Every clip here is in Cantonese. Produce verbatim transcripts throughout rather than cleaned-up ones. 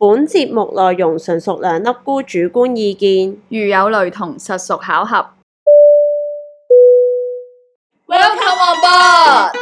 本節目內容純屬兩粒菇主觀意見， 如有雷同，實屬巧合。 Welcome on board！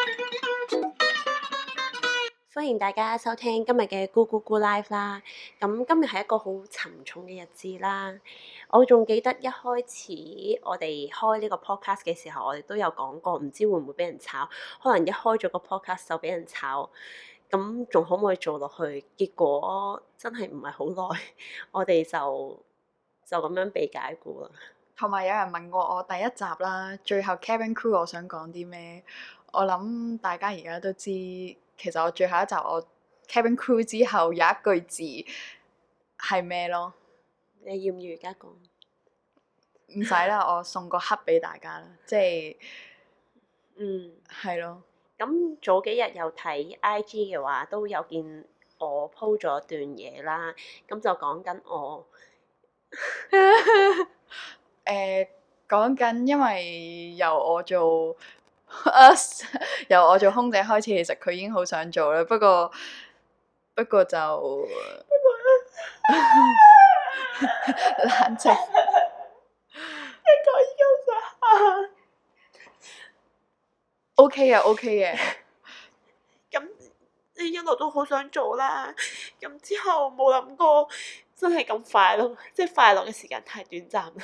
歡迎大家收聽今日嘅咕咕咕 Live 啦。咁今日係一個好沉重嘅日子啦。我仲記得一開始我哋開呢個 podcast 嘅時候，我哋都有講過，唔知會唔會俾人炒？可能一開咗個 podcast 就俾人炒。咁仲可唔可以做落去？結果真係唔係好耐，我哋就就咁樣被解僱啦。 同埋有人問過我第一集啦，最後 cabin crew 我想講啲咩？我諗大家而家都知，其實我最後一集我 cabin crew 之後有一句字係咩咯？ 你要唔要而家講？ 唔使啦，我送個黑俾大家啦，即係嗯係咯。 咁早幾日有睇 I G 嘅話，都有見我 po 咗段嘢啦。咁就講緊我誒講緊，因為由我做啊由我做空姐開始，其實佢已經好想做啦。不過不過就冷靜。 一個已經想 O K 嘅 O K 嘅。 咁你一路都好想做啦。咁之後冇諗過真係咁快咯，即係快樂嘅時間太短暫啦。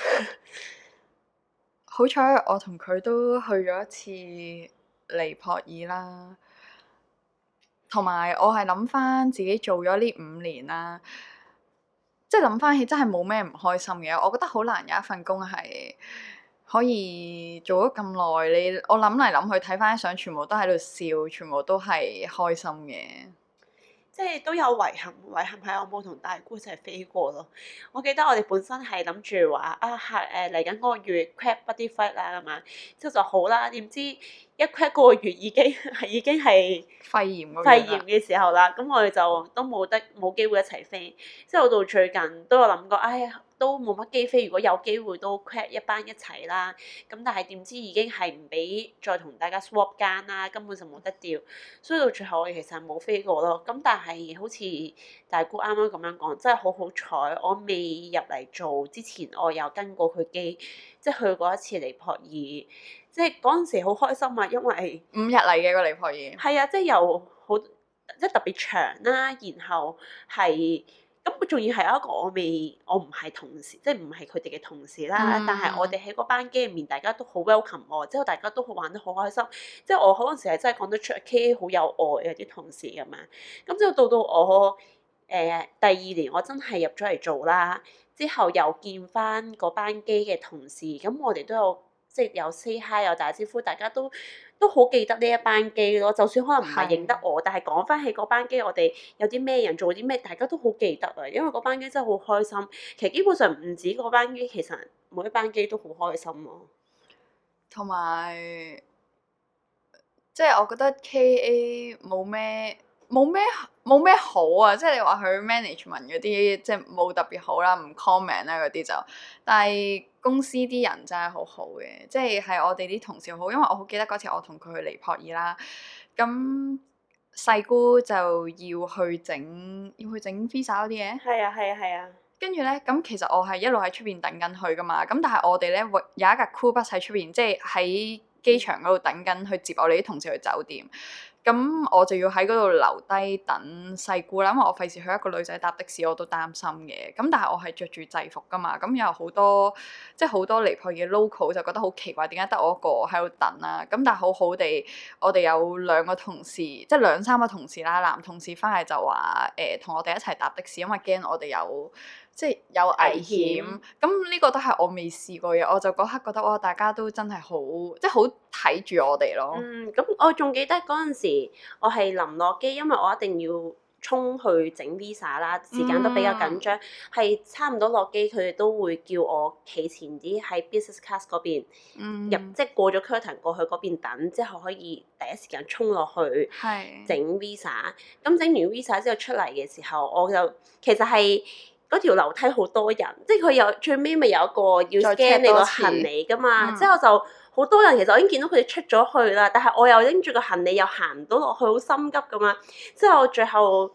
好彩我同佢都去咗一次尼泊爾啦，同埋我係諗翻自己做咗呢五年啦，即係諗翻起真係冇咩唔開心嘅。我覺得好難有一份工係可以做咗咁耐，你我諗嚟諗去睇翻啲相，全部都喺度笑，全部都係開心嘅。 即係都有遺憾，遺憾係我冇同大姑一齊飛過咯。我記得我哋本身係諗住話啊，係誒嚟緊嗰個月 crab buddy flight 啦，咁樣之後就好啦。點知一 crab 嗰個月已經係已經係肺炎嗰肺炎嘅時候啦，咁我哋就都冇得冇機會一齊飛。之後到最近都有諗過，唉、哎，都冇乜機飛。如果有機會都 crab 一班一齊啦。咁但係點知已經係唔俾再同大家 swap 間啦，根本就冇得調。所以到最後我哋其實冇飛過咯。咁但係好似大姑啱啱咁樣講，真係好好彩，我未入嚟做之前，我有跟過佢機，即係去過一次尼泊爾。即係嗰陣時好開心啊，因為五日嚟嘅個尼泊爾。 係啊，即係又好即係特別長啦，然後係咁佢仲要係一個我未我唔係同事，即係唔係佢哋嘅同事啦。 嗯、 但係我哋喺嗰班機入面，大家都好 welcome 我，之後大家都好玩得好開心。即係我嗰陣時係真係講得出 K A 好有愛嘅啲同事咁樣。咁之後到到我誒、呃、第二年，我真係入咗嚟做啦。之後又見翻嗰班機嘅同事，咁我哋都有。即係有 say hi 有打招呼，大家都都好記得呢一班機咯。就算可能唔係認得我，但係講翻起嗰班機，我哋有啲咩人做啲咩，大家都好記得啊。因為嗰班機真係好開心。其實基本上唔止嗰班機，其實每一班機都好開心咯。 同埋即係我覺得 K A 冇咩冇咩冇咩好啊！即係你話佢 management 嗰啲即係冇特別好啦，唔 comment 啦嗰啲就，但係公司啲人真係好好嘅，即係係我哋啲同事好，因為我好記得嗰次我同佢去尼泊爾啦，咁細姑就要去整要去整 visa 嗰啲嘢， 係啊係啊係啊。 跟住咧，咁其實我係一路喺出邊等緊佢噶嘛，咁但係我哋咧有一架 crew bus 喺出邊，即係喺機場嗰度等緊去接我哋啲同事去酒店。咁我就要喺嗰度留低等細姑啦，因為我費事去一個女仔搭的士，我都擔心嘅。咁但係我係着住制服噶嘛，咁有好多即係好多尼泊爾嘅 local 就覺得好奇怪，點解得我一個喺度等啊？咁但係好好地，我哋有兩個同事，即係兩三個同事啦，男同事翻嚟就話誒同我哋一齊搭的士，因為驚我哋有即係有危險。咁呢個都係我未試過嘅，我就嗰刻覺得哇，大家都真係好即係好睇住我哋咯。 嗯，咁我仲記得嗰陣時，我係臨落機，因為我一定要衝去整 visa 啦，時間都比較緊張，係、嗯、差唔多落機，佢哋都會叫我企前啲喺 business class 嗰邊入， 嗯、 即係過咗 curtain 過去嗰邊等，之後可以第一時間衝落去整 visa。咁整完 visa 之後出嚟嘅時候，我就其實係。嗰條樓梯好多人，即係佢有最尾咪有一個要 scan 你個行李噶嘛，嗯、之後就好多人。其實我已經見到佢哋出咗去啦，但係我又拎住個行李又行唔到落去，好心急咁樣。之後最後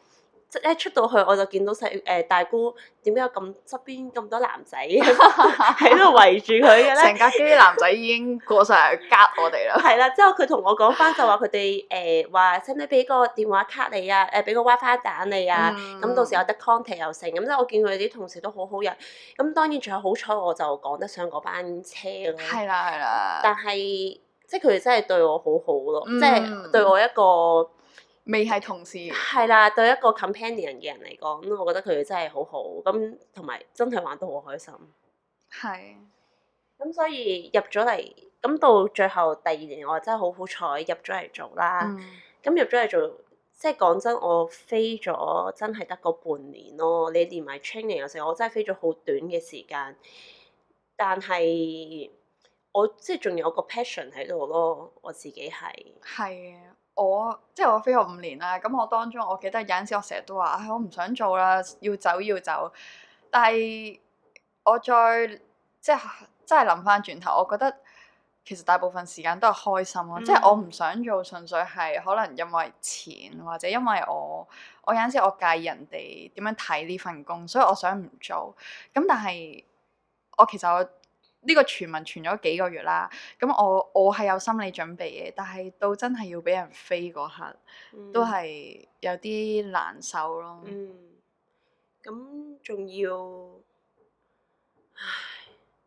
即一出到去我就見到細誒、呃、大姑點解有咁側邊咁多男仔喺度圍住佢嘅咧？ 成架機啲男仔已經過晒嚟夾我哋啦。 係啦，之後佢同我講翻就話佢哋誒話使唔使俾個電話卡你啊？誒俾個 WiFi 蛋你啊？咁、嗯、到時有得 contact 又成。咁即係我見佢哋啲同事都好好人。咁當然仲有好彩我就趕得上嗰班車咯。係啦係啦。 但係即係佢哋真係對我好好咯， 嗯、 即係對我一個。 未係同事， 係啦，對一個 companion 嘅人嚟講，咁我覺得佢哋真係好好，咁同埋真係玩得好開心。係。咁所以入咗嚟，咁到最後第二年，我真係好好彩入咗嚟做啦。咁、嗯、入咗嚟做，即係講真，我飛咗真係得個半年咯。你連埋 training 嘅時候，我真係飛咗好短嘅時間，但係我即係仲有個 passion 喺度咯，我自己係。係啊。 我即係我飛咗五年啦，咁我當中我記得有陣時我成日都話，唉、哎，我唔想做啦，要走要走。但係我再即係真係諗翻轉頭，我覺得其實大部分時間都係開心咯。嗯、即係我唔想做，純粹係可能因為錢，或者因為我我有陣時我介意人哋點樣睇呢份工，所以我想唔做。咁但係我其實我。呢個傳聞傳咗幾個月啦，咁我我係有心理準備嘅，但係到真係要俾人飛嗰刻，嗯、都係有啲難受咯。 嗯，咁仲要，唉，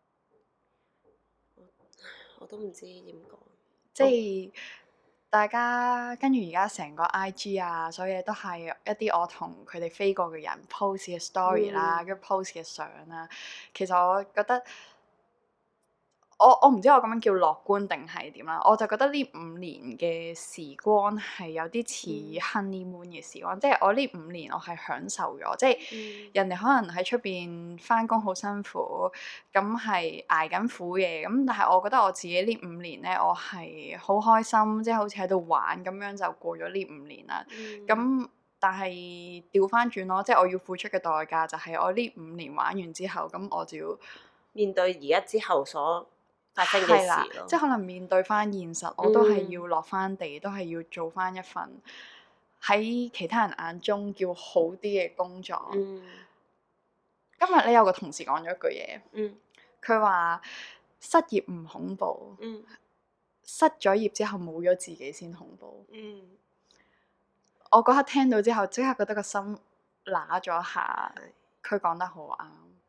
我，我都唔知點講。 即係、哦、大家跟住而家成個 I G 啊，所有嘢都係一啲我同佢哋飛過嘅人 post 嘅 story 啦，跟住 post 嘅相啦。其實我覺得。我我唔知我咁樣叫樂觀定係點啦，我就覺得呢五年嘅時光係有啲似 honeymoon 嘅時光，嗯、即係我呢五年我係享受咗，即係、嗯、人哋可能喺出邊返工好辛苦，咁係捱緊苦嘅，咁但係我覺得我自己呢五年咧，我係好開心，即係好似喺度玩咁樣就過咗呢五年啦。咁、嗯、但係調返轉咯，即係我要付出嘅代價就係我呢五年玩完之後，咁我就要面對而家之後所發生嘅事咯， 即係可能面對翻現實，我都係要落翻地，嗯、都係要做翻一份喺其他人眼中叫好啲嘅工作。嗯、今日咧有個同事講咗一句嘢，佢話、嗯、失業唔恐怖，嗯、失咗業之後冇咗自己先恐怖。嗯、我嗰刻聽到之後，即刻覺得個心揦咗一下，佢講得好啱。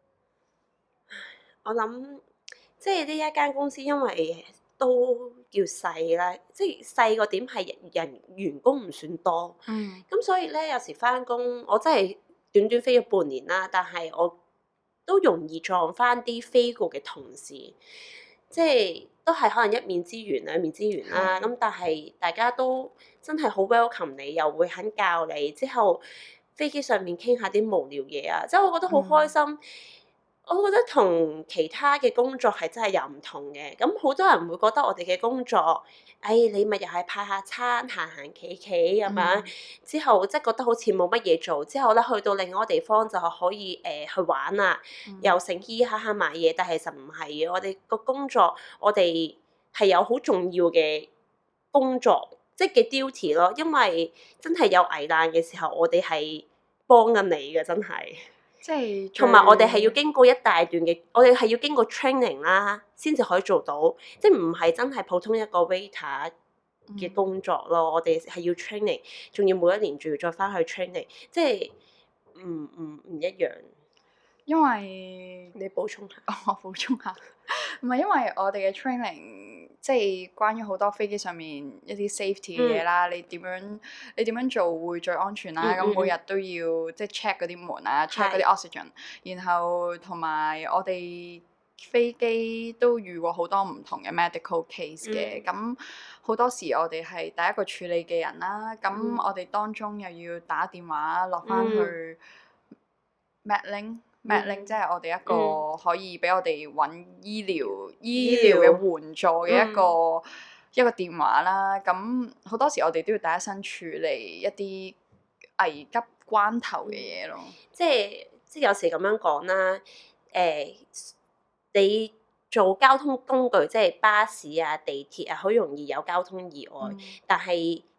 我諗。即係呢一間公司，因為都叫細啦，即係細個點係人員工唔算多，咁、嗯、所以咧有時返工，我真係短短飛咗半年啦，但係我都容易撞返啲飛過嘅同事，即係都係可能一面之緣兩面之緣啦。咁、嗯、但係大家都真係好 welcome 你，又會肯教你，之後飛機上面傾下啲無聊嘢啊，即係我覺得好開心。嗯我覺得同其他嘅工作係真係有唔同嘅，咁好多人會覺得我哋嘅工作，哎，你咪又係派下餐行行企企咁樣，嗯、之後即係覺得好似冇乜嘢做，之後咧去到另外一個地方就可以誒、呃、去玩啊，嗯、又乘機下下買嘢，但係其實唔係嘅，我哋個工作我哋係有好重要嘅工作，即係嘅 duty 咯，因為真係有危難嘅時候，我哋係幫緊你嘅，真係。即係同埋我哋係要經過一大段嘅，我哋係要經過 training 啦，先至可以做到，即係唔係真係普通一個 waiter 嘅工作咯。嗯、我哋係要 training，仲要每一年仲要再翻去 training，即係唔唔唔一樣。因為你補充下， 我補充下，唔係因為我哋嘅 training，即係關於好多飛機上面一啲 safety 嘅嘢啦。嗯、你點樣你點樣做會最安全啦？咁、嗯嗯、每日都要即係 check 嗰啲門啊，check 嗰啲 oxygen，然後同埋我哋飛機都遇過好多唔同嘅 medical case 嘅。咁好、嗯、多時我哋係第一個處理嘅人啦。咁、嗯、我哋當中又要打電話落翻去 Medlink。Medlink 即係我哋一個可以俾我哋揾醫療、嗯、醫療嘅援助嘅一個、嗯、一個電話啦。咁好多時我哋都要第一身處理一啲危急關頭嘅嘢咯。 即係即係有時咁樣講啦。誒、呃，你做交通工具，即係巴士啊、地鐵啊，好容易有交通意外。嗯、但係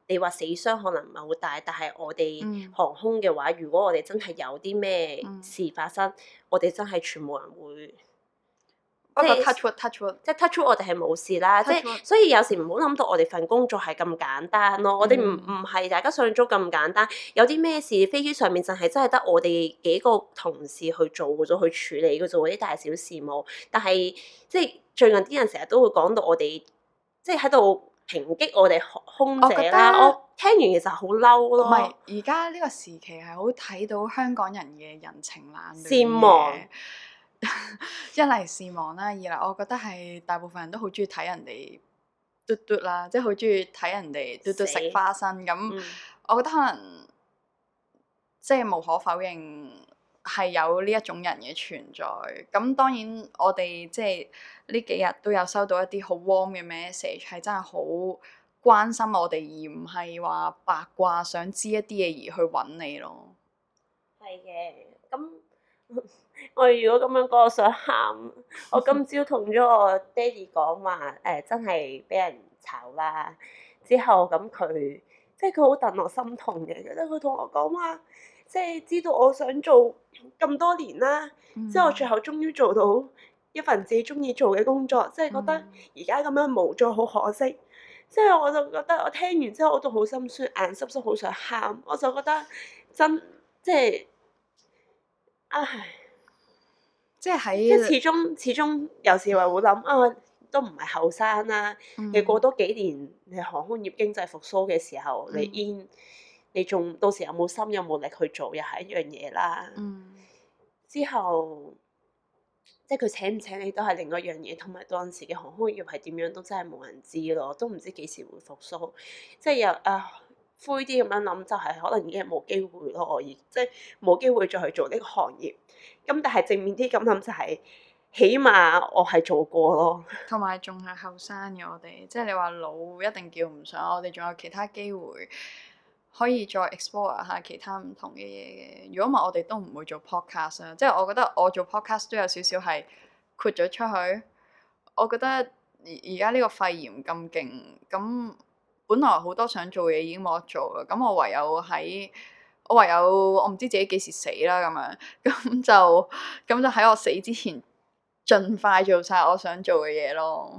你話死傷可能唔係好大，但係我哋嗯航空嘅話，如果我哋真係有啲咩嗯事發生，我哋真係全部人會。 不過即係 touch wood touch wood， 即係 touch wood，我哋係冇事啦。即 Touch 係 wood 所以有時唔好諗到我哋份工作係咁簡單咯。我哋唔嗯唔係大家想像中咁簡單。有啲咩事飛機上面就係真係得我哋幾個同事去做嘅啫，去處理嘅啫喎，啲大小事務。但係即係最近啲人成日都會講到我哋，即係喺度抨擊我哋空我覺得姐啦。我聽完其實好嬲唔咯。 係而家呢個時期係好睇到香港人嘅人情冷暖善忘嘅。一嚟善忘啦，二嚟我覺得係大部分人都好中意睇人哋嘟嘟啦，即係好中意睇人哋嘟嘟死食花生咁。 嗯我覺得可能即係無可否認係有呢一種人嘅存在。咁當然我哋即係呢幾日都有收到一啲好 warm 嘅 message，係真係好關心我哋，而唔係話八卦想知一啲嘢而去揾你咯。 係嘅，咁我如果咁樣講，我想喊。我今朝同咗我爹哋講話，誒、真係俾人炒啦。之後咁佢，即係佢好戥我心痛嘅，覺得佢同我講話，即係知道我想做咁多年啦， 嗯之後最後終於做到一份自己中意做嘅工作，即係覺得而家咁樣無助，好可惜。即係我就覺得我聽完之後我都好心酸，眼濕濕好想喊。我就覺得真即係，唉。 即係即係喺始終始終有時話會諗啊，都唔係後生啦。 嗯你過多幾年，你航空業經濟復甦嘅時候， 嗯你 in 你仲到時有冇心有冇力去做，又係一樣嘢啦。 嗯之後即係佢請唔請你都係另一樣嘢，同埋當時嘅航空業係點樣都真係冇人知咯，都唔知幾時會復甦。即係有啊灰啲咁樣諗，就係可能已經係冇機會咯，我而即係冇機會再去做呢個行業。咁但係正面啲咁諗就係、起碼我係做過咯。 同埋仲係後生嘅我哋，即係你話老一定叫唔上，我哋仲有其他機會可以再 explore 下其他唔同嘅嘢嘅。如果唔係，我哋都唔會做 podcast 啊。即係我覺得我做 podcast 都有少少係豁咗出去。我覺得而而家呢個肺炎咁勁，咁本來好多想做嘢已經冇得做啦。咁我唯有喺我唯有我唔知自己幾時死啦咁樣，咁就咁就喺我死之前，盡快做晒我想做嘅嘢咯。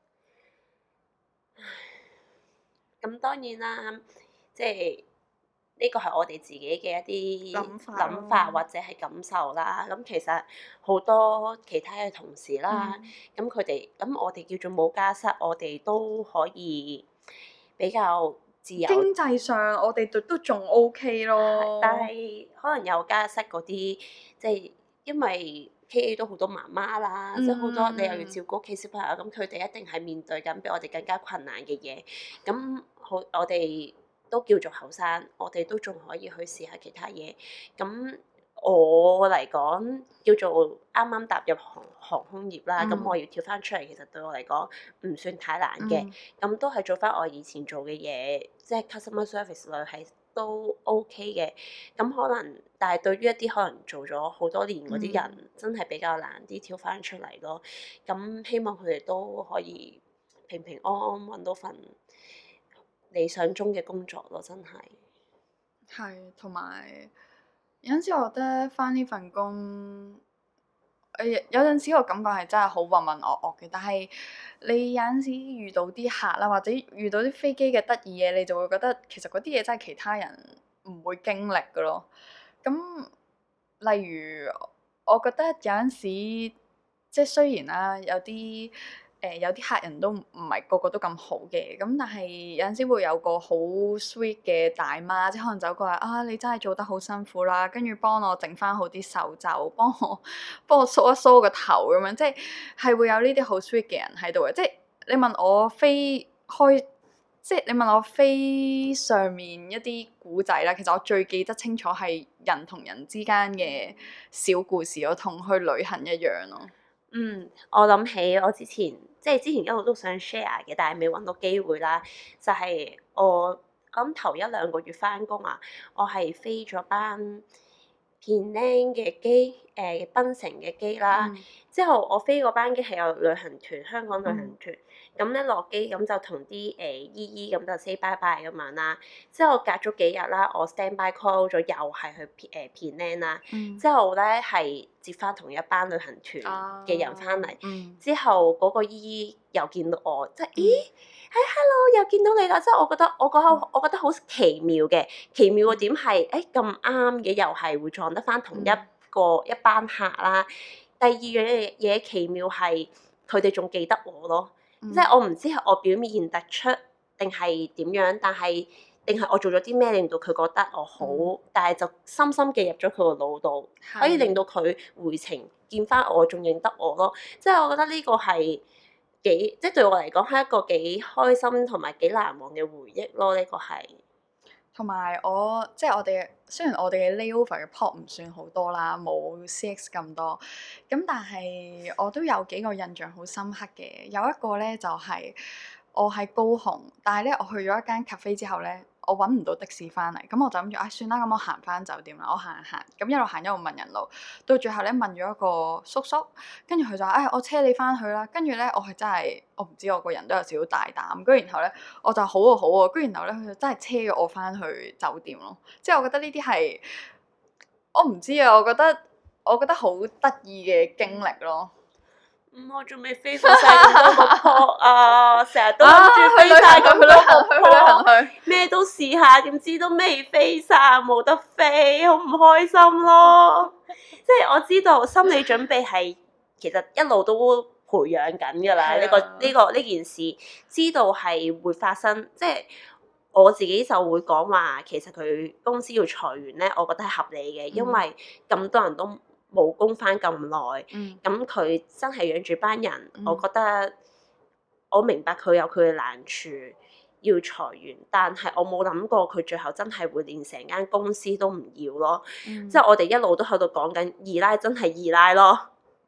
咁、嗯、當然啦，即係呢個係我哋自己嘅一啲諗法諗法或者係感受啦。咁其實好多其他嘅同事啦，咁佢哋咁我哋叫做冇家室，我哋都可以比較自由。 經濟上我哋都都仲 OK 咯， 但係可能有家室嗰啲，即係因為 K A 都好多媽媽啦， 嗯即係好多你又要照顧屋企小朋友，咁佢哋一定係面對緊比我哋更加困難嘅嘢。咁好，我哋都叫做後生，我哋都仲可以去試下其他嘢。咁我嚟講叫做啱啱踏入航航空業啦，咁、 嗯我要跳翻出嚟，其實對我嚟講唔算太難嘅。 嗯咁都係做翻我以前做嘅嘢，即係 customer service 類係都 OK 嘅。咁可能，但係對於一啲可能做咗好多年嗰啲人， 嗯真係比較難啲跳翻出嚟咯。咁希望佢哋都可以平平安安揾到份理想中嘅工作咯，真係。 係，同埋有陣時我覺得返呢份工，誒有陣時我感覺係真係好渾渾噩噩嘅，但係你有陣時遇到啲客啦，或者遇到啲飛機嘅得意嘢，你就會覺得其實嗰啲嘢真係其他人唔會經歷嘅咯。咁例如我覺得有陣時，即係雖然啦，有啲。誒、呃、有啲客人都唔係個個都咁好嘅，咁但係有陣時會有個好 sweet 嘅大媽，即係可能走過嚟啊，你真係做得好辛苦啦，跟住幫我整翻好啲手袖，幫我幫我梳一梳個頭咁樣，即係係會有呢啲好 sweet 嘅人喺度嘅。即係你問我飛開，即係你問我飛上面一啲古仔啦，其實我最記得清楚係人同人之間嘅小故事，我同去旅行一樣咯。 嗯，我諗起我之前即係之前一路都想 share 嘅，但係未揾到機會啦。就係、是、我我諗頭一兩個月翻工啊，我係飛咗班偏靚嘅機， 誒檳城嘅機啦。 嗯之後我飛嗰班機係有旅行團，香港旅行團。咁咧落機咁就同啲誒姨姨咁就 say bye bye 咁樣啦。之後隔咗幾日啦，我 stand by call 咗，又係去誒 Penang 啦。 嗯之後咧係接翻同一班旅行團嘅人翻嚟。 嗯之後嗰個姨姨又見到我，即係咦，係 hello 又見到你啦！即係我覺得我嗰刻我覺得好奇妙嘅，奇妙嘅點係誒咁啱嘅，又係會撞得翻同一個一班客啦。第二樣嘢嘢奇妙係佢哋仲記得我咯， 嗯即係我唔知係我表面突出定係點樣，但係定係我做咗啲咩令到佢覺得我好， 嗯但係就深深記入咗佢個腦度，可以令到佢回程見翻我，仲認得我咯。即係我覺得呢個係幾，即係對我嚟講係一個幾開心同埋幾難忘嘅回憶咯。呢、個係同埋我即係我哋雖然我哋嘅 layover 嘅 port 唔算好多啦，冇 C X 咁多，咁但係我都有幾個印象好深刻嘅。有一個咧就係、我喺高雄，但係咧我去咗一間 cafe 之後咧，我揾唔到的士翻嚟，咁我就諗住啊算啦，咁我行翻酒店啦，我行行，咁一路行一路問人路，到最後咧問咗一個叔叔，跟住佢就話：唉、哎，我車你翻去啦。跟住咧，我係真係我唔知我個人都有少少大膽，跟住然後咧我就好啊好啊，跟住然後咧佢就真係車咗我翻去酒店咯。即係我覺得呢啲係我唔知啊，我覺得我覺得好得意嘅經歷咯。 嗯，我仲未飛過晒咁多個 port 啊，成日都諗住飛晒咁多個去旅行 port， 去。 咩都試下，點知都未飛晒，冇得飛，好唔開心咯。即係我知道心理準備係其實一路都培養緊㗎啦。呢、 係啊個呢、個呢件事，知道係會發生，即係我自己就會講話，其實佢公司要裁員咧，我覺得係合理嘅，因為咁多人都冇工翻咁耐。 嗯咁佢真係養住班人， 嗯我覺得我明白佢有佢嘅難處，要裁員，但係我冇諗過佢最後真係會連成間公司都唔要咯。 嗯即係我哋一路都喺度講緊二奶真係二奶咯。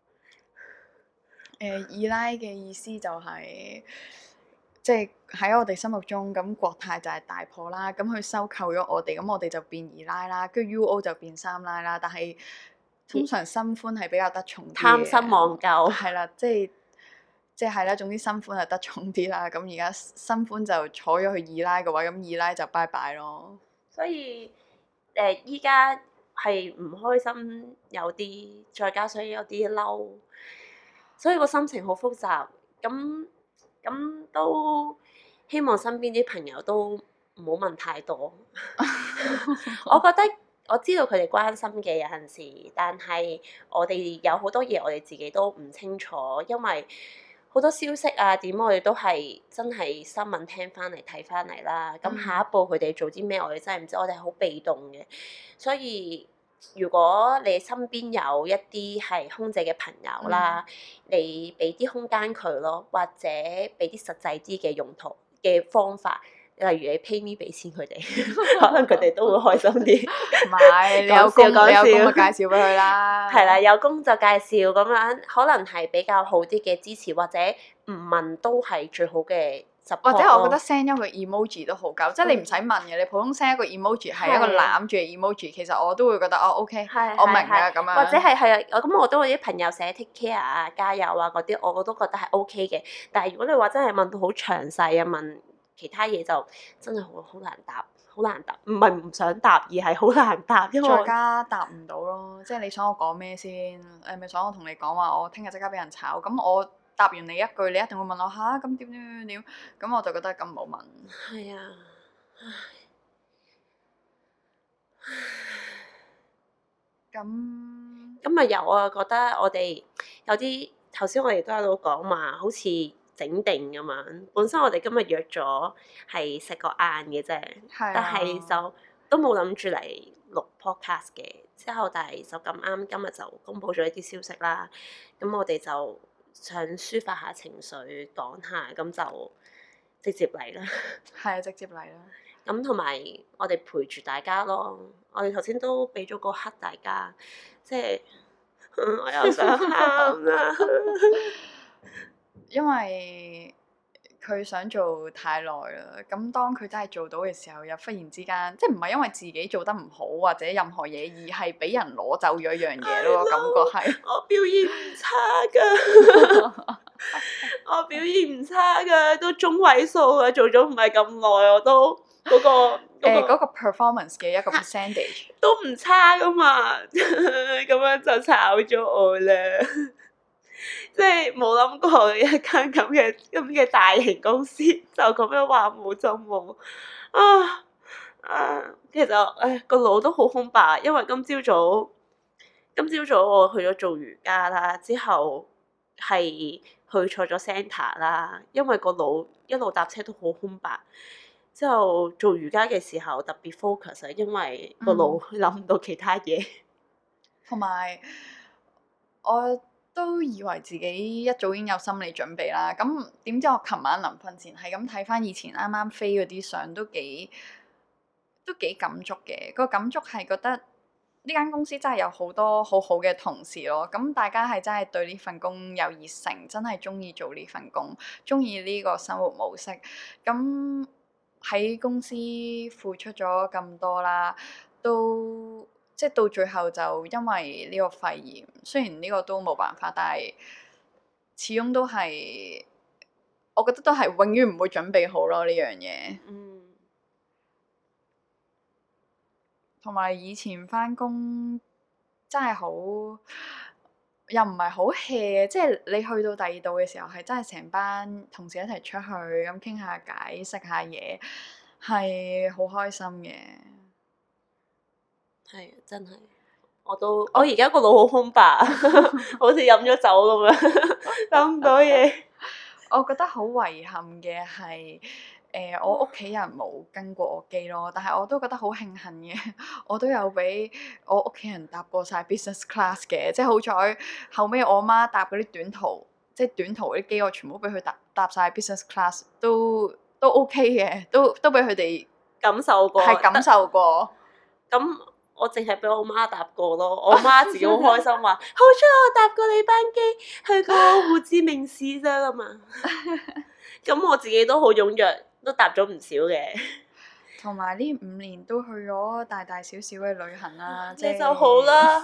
誒二奶嘅意思就係、即係喺我哋心目中，咁國泰就係大婆啦，咁佢收購咗我哋，咁我哋就變二奶啦，跟住 U O 就變三奶啦。但係通常新歡係比較得重啲嘅， 貪新忘舊係啦，即係即係啦，總之新歡係得重啲啦。咁而家新歡就坐咗去二奶嘅位，咁二奶就拜拜咯。 所以誒，依家係唔開心，有啲再加上有啲嬲，所以個心情好複雜。咁咁都希望身邊啲朋友都唔好問太多。我覺得我知道佢哋關心嘅有陣時，但係我哋有好多嘢我哋自己都唔清楚，因為好多消息啊點我哋都係真係新聞聽翻嚟睇翻嚟啦。咁下一步佢哋做啲咩，我哋真係唔知，我哋係好被動嘅。所以如果你身邊有一啲係空姐嘅朋友啦，你俾啲空間佢咯，或者俾啲實際啲嘅用途嘅方法。例如你 pay me 俾錢佢哋，可能佢哋都會開心啲。 唔係，你有工講笑你有工就介紹俾佢啦。 係啦，有工就介紹咁樣，可能係比較好啲嘅支持，或者唔問都係最好嘅 support 或者我覺得咯 send 一個 emoji 都好夠，即係你唔使問嘅，你普通 send 一個 emoji 係一個係攬住嘅 emoji，其實我都會覺得哦 OK， 係我明係係㗎咁樣。 或者係係啊，我咁我都有啲朋友寫 take care 啊、加油啊嗰啲，我都覺得係 OK 嘅。但係如果你話真係問到好詳細啊，問其他嘢就真係好好難答，好難答。唔係唔想答，而係好難答，因為再加答唔到咯，即係你想我講咩先？誒咪想我同你講話，我聽日即刻俾人炒，咁我答完你一句，你一定會問我吓，咁點點點點，咁我就覺得咁唔好問。 係啊， 咁咁啊有啊，覺得我哋有啲頭先我哋都喺度講話，好似整定咁樣。本身我哋今日約咗係食個晏嘅啫， 係啊但係就都冇諗住嚟錄 podcast 嘅。之後但係就咁啱今日就公佈咗一啲消息啦。咁我哋就想抒發下情緒，講下，咁就直接嚟啦。 係啊，直接嚟啦。 咁同埋我哋陪住大家咯。我哋頭先都俾咗個黑大家，即係、嗯、我又想喊啦。 因為佢想做太耐啦，咁當佢真係做到嘅時候，又忽然之間，即係唔係因為自己做得唔好或者任何嘢，而係俾人攞走咗一樣嘢咯，感覺係。 我表現唔差㗎，我表現唔差㗎，都中位數啊，做咗唔係咁耐，我都嗰、嗰個誒嗰、 嗰個個 performance 嘅一個 percentage 都唔差㗎嘛，咁樣就炒咗我啦。即係冇諗過一間咁嘅咁嘅大型公司就咁樣話冇就冇啊啊！其實誒個腦都好空白，因為今朝早今朝早我去咗做瑜伽啦，之後係去錯咗 centre 啦，因為個腦一路搭車都好空白。之後做瑜伽嘅時候特別 focus 啊，因為個腦諗唔到其他嘢。 同埋我都以為自己一早已經有心理準備啦，咁點知我琴晚臨瞓前係咁睇翻以前啱啱飛嗰啲相，都幾都幾感觸嘅。個感觸係覺得呢間公司真係有好多好好嘅同事咯，咁大家係真係對呢份工有熱誠，真係中意做呢份工，中意呢個生活模式。咁喺公司付出咗咁多啦，都即係到最後就因為呢個肺炎，雖然呢個都冇辦法，但係始終都係，我覺得都係永遠唔會準備好咯呢樣嘢。 嗯。 同埋以前返工真係好，又唔係好 hea，即係你去到第二度嘅時候，係真係成班同事一齊出去咁傾下偈、食下嘢，係好開心嘅。 係啊，真係，我都我而家個腦好空白，好似飲咗酒咁樣，諗唔到嘢。 我覺得好遺憾嘅係，誒、呃、我屋企人冇跟過我機咯，但係我都覺得好慶幸嘅，我都有俾我屋企人搭過晒 business class 嘅，即係好彩後尾我媽搭嗰啲短途，即係短途嗰啲機，我全部俾佢搭搭曬 business class，都都 OK 嘅，都都俾佢哋感受過， 係感受過。 咁我淨係俾我媽搭過咯，我媽自己好開心話：好彩我搭過你班機去過胡志明市啫嘛。咁我自己都好踴躍，都搭咗唔少嘅。 同埋呢五年都去咗大大小小嘅旅行啦，即係你就好啦。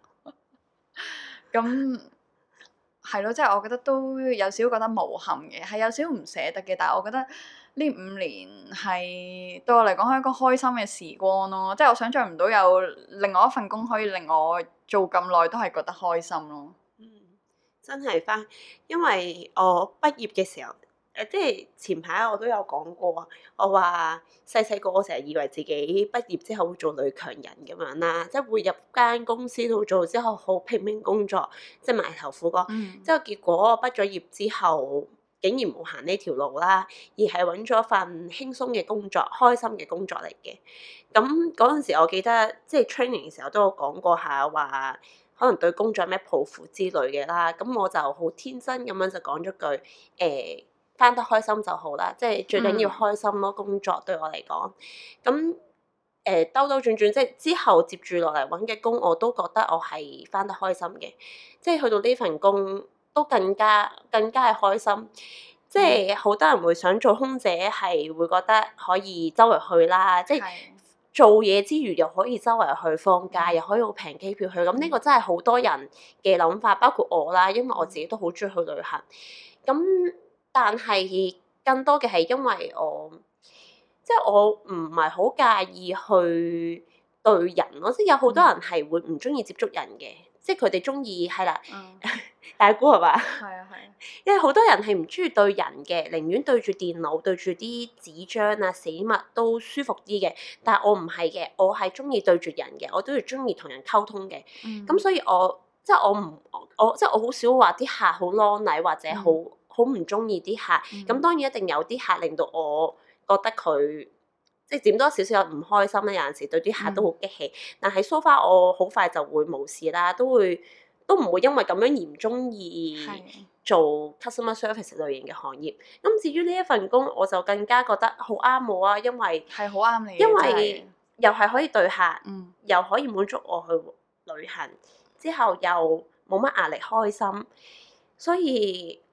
咁係咯，即係我覺得都有少少覺得無憾嘅，係有少少唔捨得嘅。但係我覺得呢五年係對我嚟講係一個開心嘅時光咯，即係我想象唔到有另外一份工可以令我做咁耐都係覺得開心咯。 嗯，真係返，因為我畢業嘅時候。誒，即係前排我都有講過啊，我話細細個我成日以為自己畢業之後會做女強人咁樣啦，即係會入間公司度做之後好拼命工作，即係埋頭苦幹。 嗯。 之後結果我畢咗業之後，竟然冇行呢條路啦，而係揾咗份輕鬆嘅工作、開心嘅工作嚟嘅。咁嗰陣時我記得即係 training 嘅時候都有講過下話，可能對工作有咩抱負之類嘅啦。咁我就好天真咁樣就講咗句誒。欸返得開心就好啦，即係最緊要開心咯。工作對我嚟講，咁誒兜兜轉轉，即係之後接住落嚟揾嘅工，我都覺得我係返得開心嘅。即係去到呢份工都更加更加係開心。即係好多人會想做空姐，係會覺得可以周圍去啦，即係做嘢之餘又可以周圍去放假，又可以好平機票去。咁呢個真係好多人嘅諗法，包括我啦，因為我自己都好中意去旅行。咁但係更多嘅係因為我，即係我唔係好介意去對人咯，即係有好多人係會唔中意接觸人嘅，即係佢哋中意係啦， 嗯、 大姑係嘛？ 係啊係啊， 因為好多人係唔中意對人嘅，寧願對住電腦、對住啲紙張啊、死物都舒服啲嘅。但係我唔係嘅，我係中意對住人嘅，我都係中意同人溝通嘅。咁、嗯、所以我即係我唔我即係我好少話啲客好啷禮或者好。嗯好唔中意啲客，咁、嗯、當然一定有啲客令到我覺得佢即係點多少少有唔開心咧。有陣時對啲客都好激氣，嗯、但係 so far 我好快就會冇事啦，都會都唔會因為咁樣而唔中意做 customer service 類型嘅行業。咁至於呢一份工，我就更加覺得好啱我啊，因為係好啱你， 因為又係可以對客， 嗯、又可以滿足我去旅行，之後又冇乜壓力，開心，所以。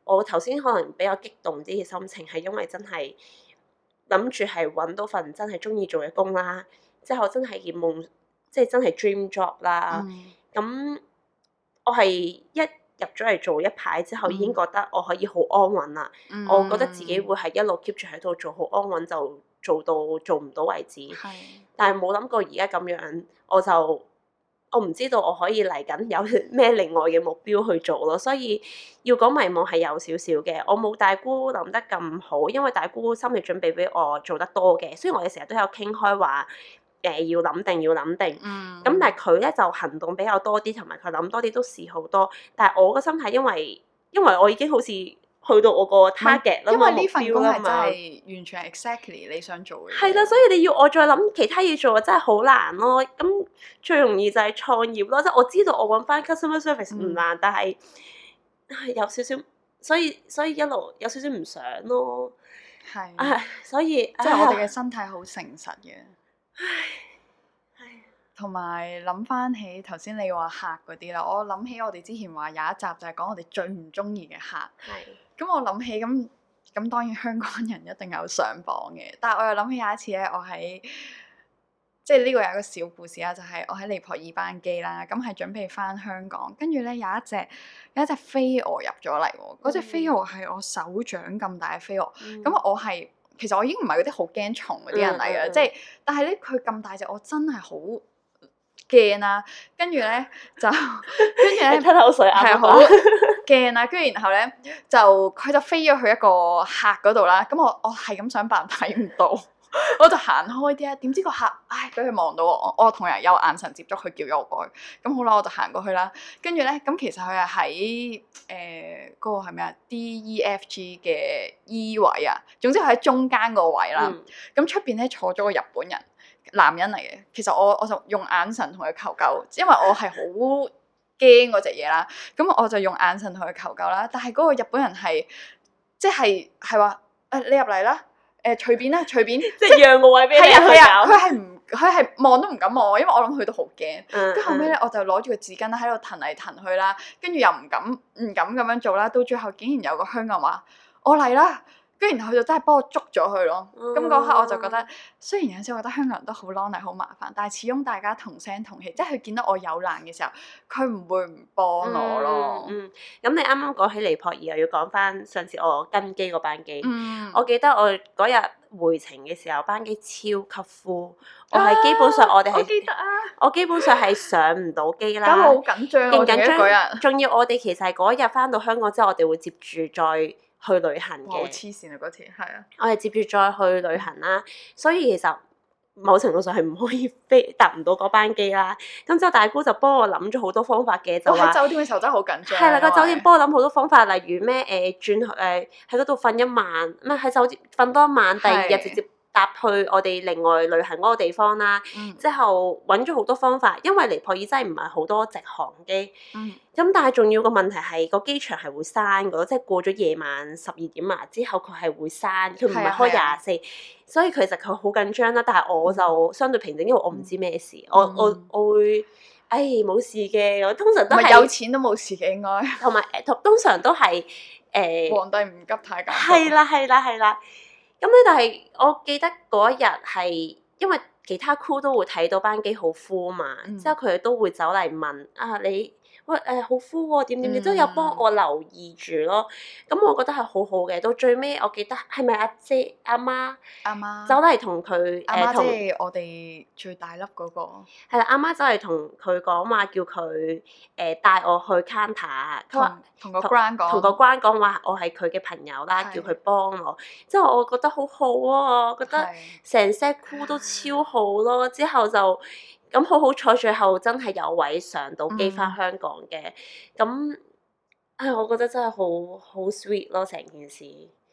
我頭先可能比較激動啲嘅心情係因為真係諗住係揾到份真係中意做嘅工啦，之後真係嘅夢，即係真係 dream job 啦。咁、嗯、我係一入咗嚟做一排之後，已經覺得我可以好安穩啦。嗯、我覺得自己會係一路 keep 住喺度做，好安穩就做到做唔到為止。 係但係冇諗過而家咁樣，我就我唔知道我可以嚟緊有咩另外嘅目標去做咯。所以要講迷茫係有少少嘅，我冇大姑諗得咁好，因為大姑心理準備比我做得多嘅。雖然我哋成日都有傾開話。誒、呃、要諗定要諗定，咁、嗯、但係佢咧就行動比較多啲，同埋佢諗多啲都試好多。但係我個心態因為因為我已經好似去到我個 target 啦嘛， 因為呢份工係真係完全係 exactly 你想做嘅。 係啦，所以你要我再諗其他嘢做，真係好難咯。咁最容易就係創業咯，即、就、係、是、我知道我揾翻 customer service 唔難，嗯、但係係有少少，所以所以一路有少少唔想咯。係的，唉，所以即係我哋嘅身體好誠實嘅。唉，同埋諗翻起頭先你話客嗰啲啦，我諗起我哋之前話有一集就係講我哋最唔中意嘅客。係的。咁我諗起咁咁，當然香港人一定有上榜嘅，但係我又諗起有一次咧，我喺即係呢個有一個小故事啦，就係、是、我喺尼泊爾班機啦，咁係準備翻香港，跟住咧有一隻有一隻飛蛾入咗嚟喎，嗰隻、嗯、飛蛾係我手掌咁大嘅飛蛾，咁、嗯、我係。其實我已經唔係嗰啲好驚蟲嗰啲人嚟嘅，即係、嗯嗯，但係咧佢咁大隻，我真係好驚啦。跟住咧就，跟住咧吞口水啊， 係好驚啦。跟住然後咧就佢就飛咗去一個客嗰度啦。咁我我係咁想扮睇唔到，我就行開啲啊。點知個客唉俾佢望到我，我同人有眼神接觸，佢叫咗我過去。咁好啦，我就行過去啦。跟住咧，咁其實佢係喺誒嗰個係咩啊 D E F G 嘅 E 位啊。總之佢喺中間個位啦。咁出邊咧坐咗個日本人，男人嚟嘅。其實我我就用眼神同佢求救，因為我係好驚嗰隻嘢啦。咁我就用眼神同佢求救啦。但係嗰個日本人係即係係話誒你入嚟啦。誒隨便啦，隨便，即係讓個位俾你去搞。係啊，佢係唔，佢係望都唔敢望我，因為我諗佢都好驚。跟住後尾咧，我就攞住個紙巾喺度騰嚟騰去啦，跟住又唔敢唔敢咁樣做啦。到最後竟然有個香港人話：我嚟啦！跟住然後佢就真係幫我捉咗佢咯。咁嗰、嗯、刻我就覺得，雖然有陣時我覺得香港人都好 lonely 好麻煩，但係始終大家同聲同氣，即係佢見到我有難嘅時候，佢唔會唔幫我咯。嗯， 咁、嗯、你啱啱講起尼泊爾，又要講翻上次我跟機嗰班機。 嗯， 我記得我嗰日回程嘅時候，班機超級 full，我係基本上我哋係、啊，我記得啊，我基本上係上唔到機啦。 咁好緊張，勁緊張嗰日。 仲要我哋其實係嗰日翻到香港之後，我哋會接住再去旅行嘅。 好黐線啊！嗰次係啊， 我哋接住再去旅行啦，所以其實某程度上係唔可以飛搭唔到嗰班機啦。咁之後大姑就幫我諗咗好多方法嘅，就話喺酒店嘅時候真係好緊張。 係啦，個酒店幫我諗好多方法，例如咩誒轉誒喺嗰度瞓一晚，唔係喺酒店瞓多一晚，第二日直接搭去我哋另外旅行嗰個地方啦。嗯、之後揾咗好多方法，因為尼泊爾真係唔係好多直航機。嗯。咁但係仲要個問題係個機場係會閂嘅，即係過咗夜晚十二點啊之後佢係會閂，佢唔係開廿四，所以其實佢好緊張啦。但係我就相對平靜，因為我唔知咩事，嗯、我我我會，唉冇事嘅，我通常都係有錢都冇事嘅應該， 同埋誒通常都係誒、呃、 皇帝唔急太監。 係啦係啦係啦，咁咧但係我記得嗰一日係因為其他 crew 都會睇到班機好 full 嘛，嗯、之後佢哋都會走嚟問啊你。喂誒好 full 喎，點點點都有幫我留意住咯，咁我覺得係好好嘅。到最尾我記得係咪阿姐阿媽阿媽走嚟同佢誒同即係我哋最大粒嗰個係啦，阿媽走嚟同佢講話，叫佢誒帶我去 counter，佢話同個關講， 同個關講話我係佢嘅朋友啦，叫佢幫我。之後我覺得好好啊，我覺得成 set crew 都超好咯。之後就。咁好好彩，最後真係有位上到機翻香港嘅，咁唉、嗯，我覺得真係好好 sweet 咯，成件事。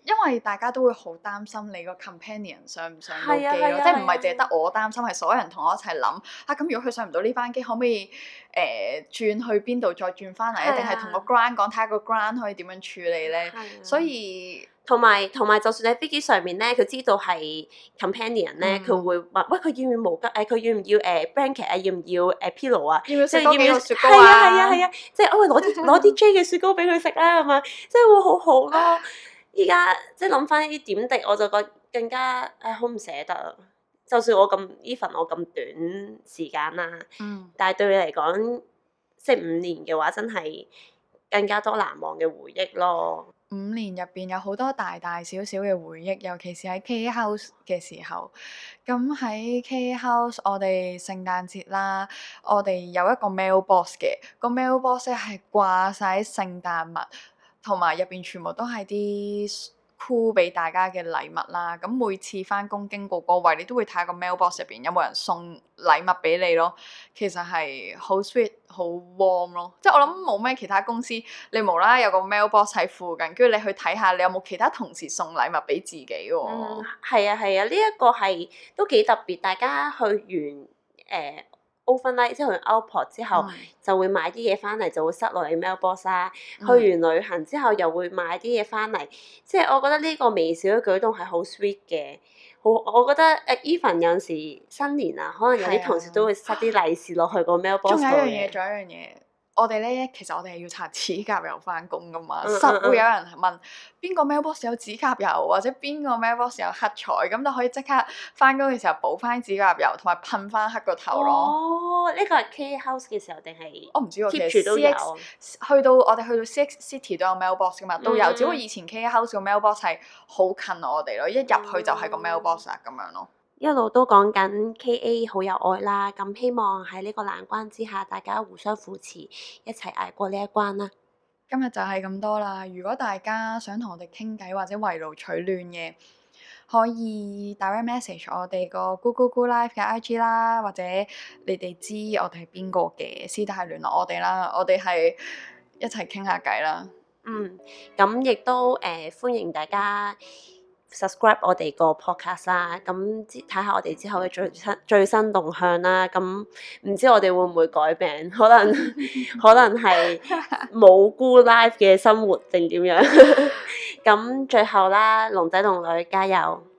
因為大家都會好擔心你個 companion 上唔上到機咯， 係啊係啊即係唔係淨係得我擔心，係所有人同我一齊諗啊。咁如果佢上唔到呢班機，可唔可以誒、呃、轉去邊度再轉翻嚟？ 係啊定係同個 ground 講睇下個 ground 可以點樣處理咧？所以同埋同埋，就算喺飛機上面咧，佢知道係 companion 咧，佢、 嗯、 會問：喂，佢要唔要毛巾？誒，佢要唔要誒 blanket 啊？要唔要誒 pillow 啊？ 要唔要食即係要唔要雪糕啊？ 係啊係啊係啊！即係我攞啲攞啲 J 嘅雪糕俾佢食啦，咁樣即係會好好咯。依家即係諗翻呢啲點滴，我就覺得更加誒好唔捨得啊！就算我咁 even 我咁短時間啦， 嗯， 但係對你嚟講，即係五年嘅話，真係更加多難忘嘅回憶咯。 五年入邊有好多大大小小嘅回憶，尤其是喺 K House 嘅時候。咁喺 K House，我哋聖誕節啦，我哋有一個 mailbox 嘅，個 mailbox 咧係掛晒聖誕物，同埋入邊全部都係啲cool俾大家嘅禮物啦。咁每次翻工經過嗰位，你都會睇下個 mailbox 入邊有冇人送禮物俾你咯。其實係好 sweet、好 warm 咯。即係我諗冇咩其他公司，你無啦啦有個 mailbox 喺附近，跟住你去睇下，你有冇其他同事送禮物俾自己喎？ 嗯，係啊係啊，呢一、這個係都幾特別。大家去完誒、呃、overnight 之後去 outport 之後， 嗯、就就會買啲嘢翻嚟，就會塞落你 mailbox 啦。 嗯、 去完旅行之後，又會買啲嘢翻嚟。即係我覺得呢個微小嘅舉動係好 sweet 嘅。好，我覺得誒 even 有陣時新年啊，可能有啲同事都會塞啲利是落去個 mailbox 度嘅。 仲有一樣嘢，仲有一樣嘢。我哋咧，其實我哋係要擦指甲油翻工噶嘛， 嗯嗯實會有人問邊個 mailbox 有指甲油，或者邊個 mailbox 有黑彩，咁就可以即刻翻工嘅時候補翻指甲油，同埋噴翻黑個頭咯。 哦，呢個係 K House 嘅時候定係？ 我唔知喎，其 keep 住都有。 去到我哋去到 C X City 都有 mailbox 噶嘛，都有。 嗯、 只不過以前 K House 個 mailbox 係好近我哋咯，一入去就係個 mailbox 啊咁樣咯。 一路都講緊 K A 好有愛啦，咁希望喺呢個難關之下，大家互相扶持，一齊捱過呢一關啦。 今日就係咁多啦。如果大家想同我哋傾偈或者圍爐取暖嘅，可以 direct message 我哋個 Google Google Live 嘅 I G 啦，或者你哋知我哋係邊個嘅，私底下聯絡我哋啦。我哋係一齊傾下偈啦。 嗯，咁亦都誒、呃、歡迎大家 subscribe 我哋個 podcast 啦，咁睇下我哋之後嘅最新最新動向啦。咁唔知我哋會唔會改名？可能可能係冇菇 live 嘅生活定點樣？咁最後啦，龍仔龍女加油！